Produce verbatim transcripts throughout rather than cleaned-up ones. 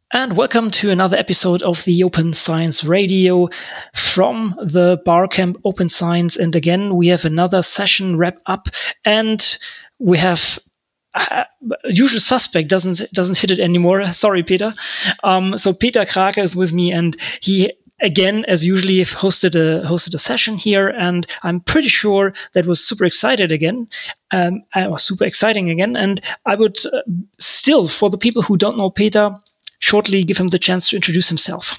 And welcome to another episode of the Open Science Radio from the Barcamp Open Science. And again, we have another session wrap up, and we have uh, usual suspect doesn't doesn't hit it anymore. Sorry, Peter. Um, so Peter Krake is with me, and he again, as usually, hosted a hosted a session here, and I'm pretty sure that was super excited again. Um, uh, super exciting again, and I would uh, still, for the people who don't know Peter, shortly give him the chance to introduce himself.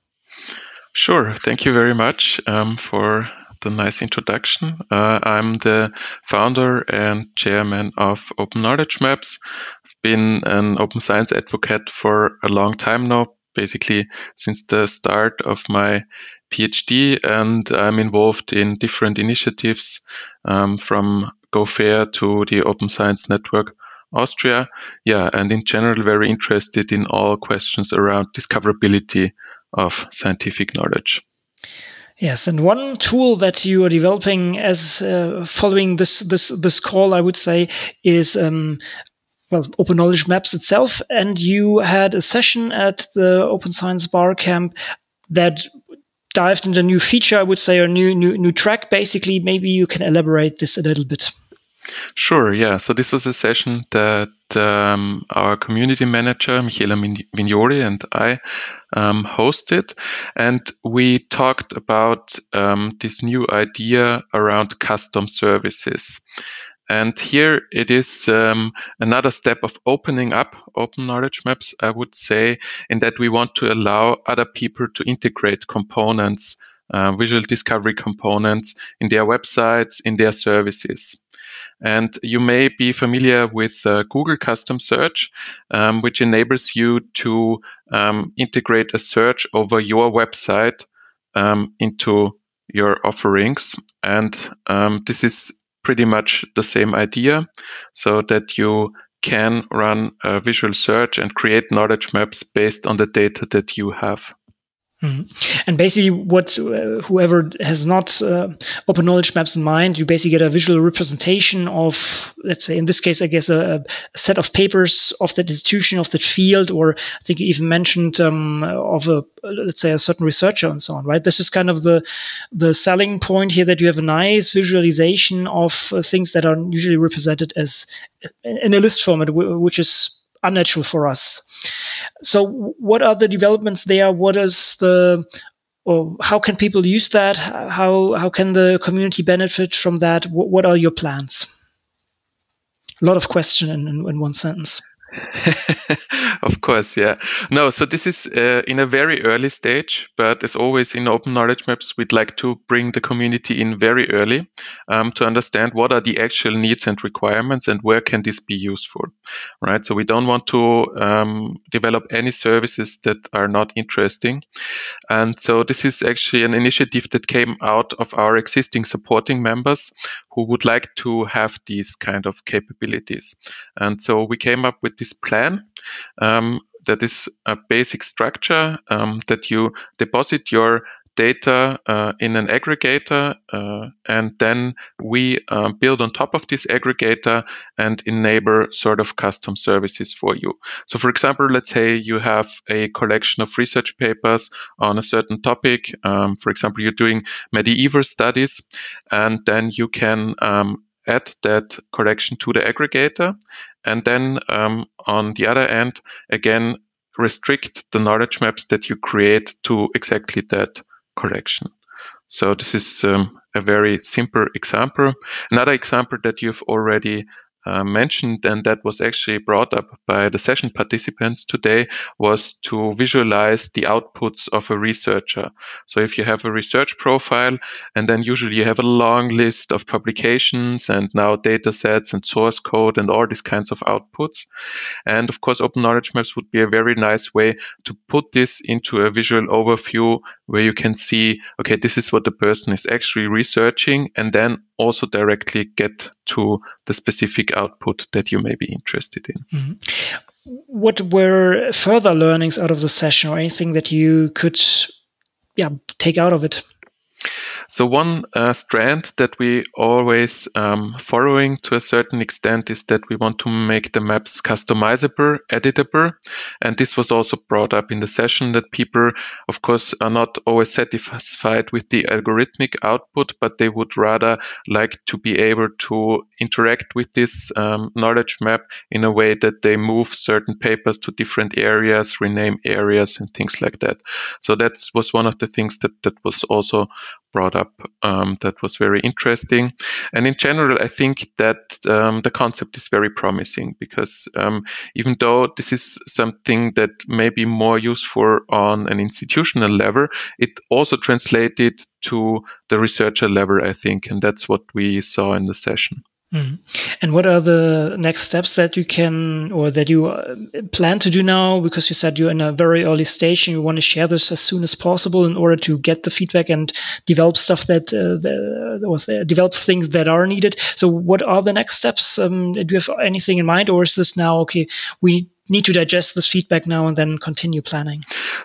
Sure. Thank you very much um, for the nice introduction. Uh, I'm the founder and chairman of Open Knowledge Maps. I've been an open science advocate for a long time now, basically since the start of my PhD, and I'm involved in different initiatives um, from GoFair to the Open Science Network Austria, yeah, and in general very interested in all questions around discoverability of scientific knowledge. Yes, and one tool that you are developing as uh, following this this this call, I would say, is um, well, Open Knowledge Maps itself. And you had a session at the Open Science Barcamp that dived into a new feature, I would say, or new new new track. Basically, maybe you can elaborate this a little bit. Sure, yeah. So this was a session that um, our community manager, Michela Vignoli, and I um, hosted. And we talked about um, this new idea around custom services. And here it is um, another step of opening up Open Knowledge Maps, I would say, in that we want to allow other people to integrate components, uh, visual discovery components in their websites, in their services. And you may be familiar with uh, Google Custom Search, um, which enables you to um, integrate a search over your website um, into your offerings. And um, this is pretty much the same idea, so that you can run a visual search and create knowledge maps based on the data that you have. Mm-hmm. And basically, what uh, whoever has not uh, Open Knowledge Maps in mind, you basically get a visual representation of, let's say, in this case, I guess, a, a set of papers of that institution, of that field, or I think you even mentioned um, of a, let's say, a certain researcher and so on, right? This is kind of the the selling point here, that you have a nice visualization of uh, things that are usually represented as in a list format, which is unnatural for us. So what are the developments there? What is the, or how can people use that? How how can the community benefit from that? What, what are your plans? A lot of question in, in, in one sentence. Of course, yeah. No, so this is uh, in a very early stage, but as always in Open Knowledge Maps, we'd like to bring the community in very early um, to understand what are the actual needs and requirements and where can this be useful, right? So we don't want to um, develop any services that are not interesting. And so this is actually an initiative that came out of our existing supporting members who would like to have these kind of capabilities. And so we came up with this plan. Um, that is a basic structure um, that you deposit your data uh, in an aggregator, uh, and then we uh, build on top of this aggregator and enable sort of custom services for you. So for example, let's say you have a collection of research papers on a certain topic. Um, for example, you're doing medieval studies, and then you can um, add that collection to the aggregator, and then um, on the other end, again, restrict the knowledge maps that you create to exactly that collection. So this is um, a very simple example. Another example that you've already uh, mentioned, and that was actually brought up by the session participants today, was to visualize the outputs of a researcher. So if you have a research profile, and then usually you have a long list of publications and now data sets and source code and all these kinds of outputs. And of course, Open Knowledge Maps would be a very nice way to put this into a visual overview where you can see, okay, this is what the person is actually researching, and then also directly get to the specific output that you may be interested in. Mm-hmm. What were further learnings out of the session, or anything that you could yeah, take out of it? So one uh, strand that we always um, following to a certain extent is that we want to make the maps customizable, editable. And this was also brought up in the session that people, of course, are not always satisfied with the algorithmic output, but they would rather like to be able to interact with this um, knowledge map in a way that they move certain papers to different areas, rename areas and things like that. So that was one of the things that, that was also brought up um, that was very interesting. And in general, I think that um, the concept is very promising because um, even though this is something that may be more useful on an institutional level, it also translated to the researcher level, I think, and that's what we saw in the session. Mm. And what are the next steps that you can or that you uh, plan to do now? Because you said you're in a very early stage and you want to share this as soon as possible in order to get the feedback and develop stuff that, uh, the, or develop things that are needed. So what are the next steps? Um, do you have anything in mind, or is this now, okay, we need to digest this feedback now and then continue planning?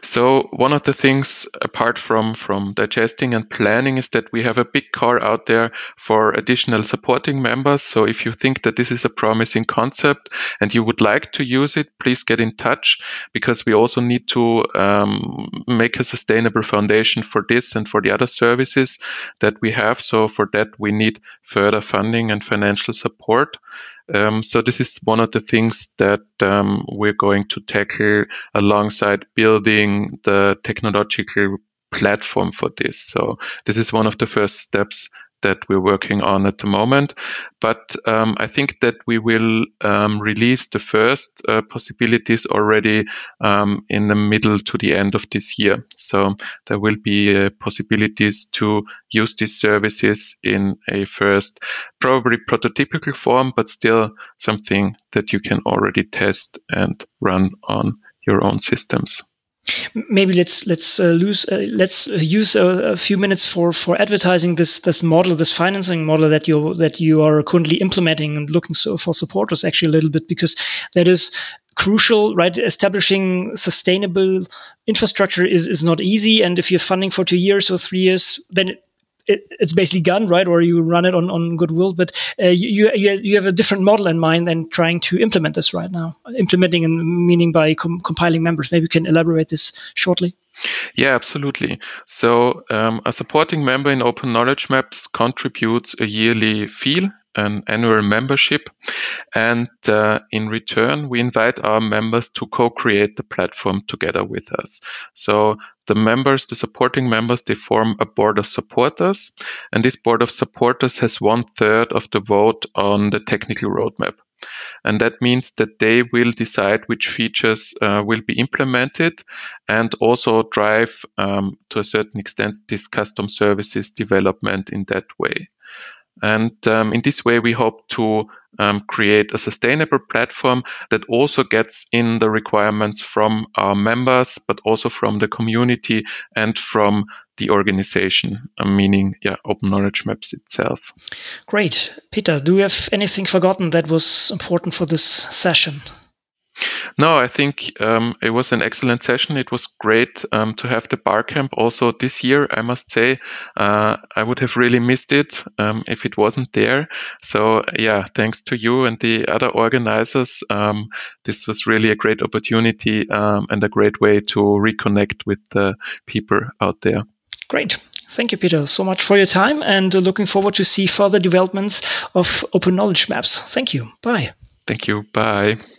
So one of the things apart from, from digesting and planning is that we have a big call out there for additional supporting members. So if you think that this is a promising concept and you would like to use it, please get in touch, because we also need to um, make a sustainable foundation for this and for the other services that we have. So for that, we need further funding and financial support. Um, so this is one of the things that um, we're going to tackle alongside building the technological platform for this. So this is one of the first steps that we're working on at the moment. But um, I think that we will um, release the first uh, possibilities already um, in the middle to the end of this year. So there will be uh, possibilities to use these services in a first, probably prototypical form, but still something that you can already test and run on your own systems. Maybe let's let's uh, lose uh, let's use a, a few minutes for for advertising this this model, this financing model that you that you are currently implementing and looking so for supporters actually a little bit, because that is crucial, right? Establishing sustainable infrastructure is is not easy, and if you're funding for two years or three years, then it, It, it's basically gone, right? Or you run it on, on goodwill, but uh, you, you you have a different model in mind than trying to implement this right now. Implementing, and meaning by com- compiling members. Maybe you can elaborate this shortly. Yeah, absolutely. So um, a supporting member in Open Knowledge Maps contributes a yearly fee, an annual membership, and uh, in return, we invite our members to co-create the platform together with us. So the members, the supporting members, they form a board of supporters, and this board of supporters has one third of the vote on the technical roadmap. And that means that they will decide which features uh, will be implemented and also drive, um, to a certain extent, this custom services development in that way. And um, in this way, we hope to um, create a sustainable platform that also gets in the requirements from our members, but also from the community and from the organization, uh, meaning yeah, Open Knowledge Maps itself. Great. Peter, do you have anything forgotten that was important for this session? No, I think um, it was an excellent session. It was great um, to have the Barcamp also this year, I must say. Uh, I would have really missed it um, if it wasn't there. So yeah, thanks to you and the other organizers. Um, this was really a great opportunity um, and a great way to reconnect with the people out there. Great. Thank you, Peter, so much for your time, and uh, looking forward to see further developments of Open Knowledge Maps. Thank you. Bye. Thank you. Bye.